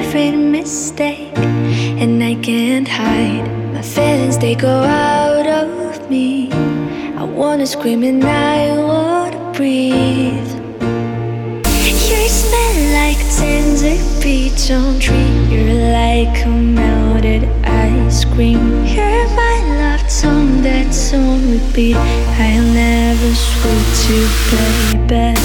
favorite mistake, and I can't hide my feelings, they go out of me. I wanna scream and I wanna breathe. You smell like a tender peach on tree. You're like a melted ice cream. You're my love song that's on repeat. I'll never switch to play back.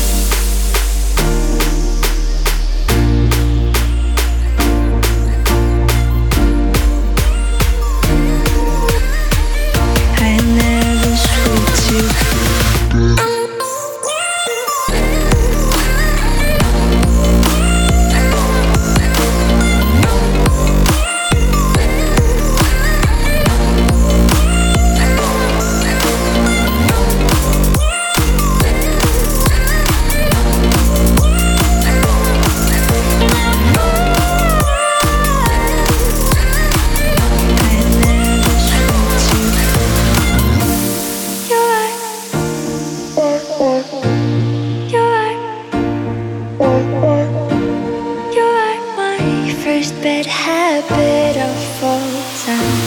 Bad habit of all time.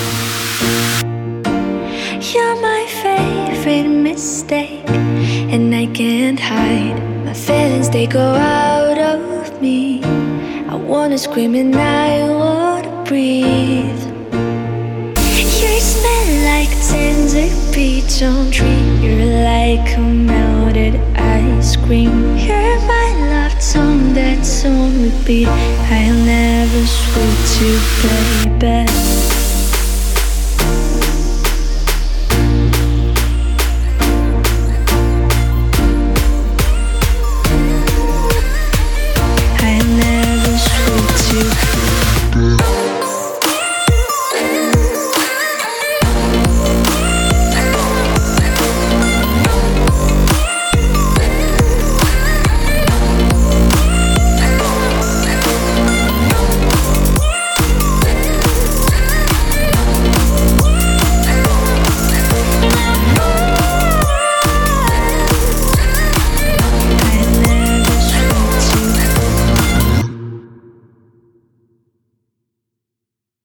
You're my favorite mistake, and I can't hide my feelings, they go out of me. I wanna scream and I wanna breathe. You smell like a tender peach on tree. You're like a melted ice cream. You're my love song that's on repeat. I'll never switch to play back.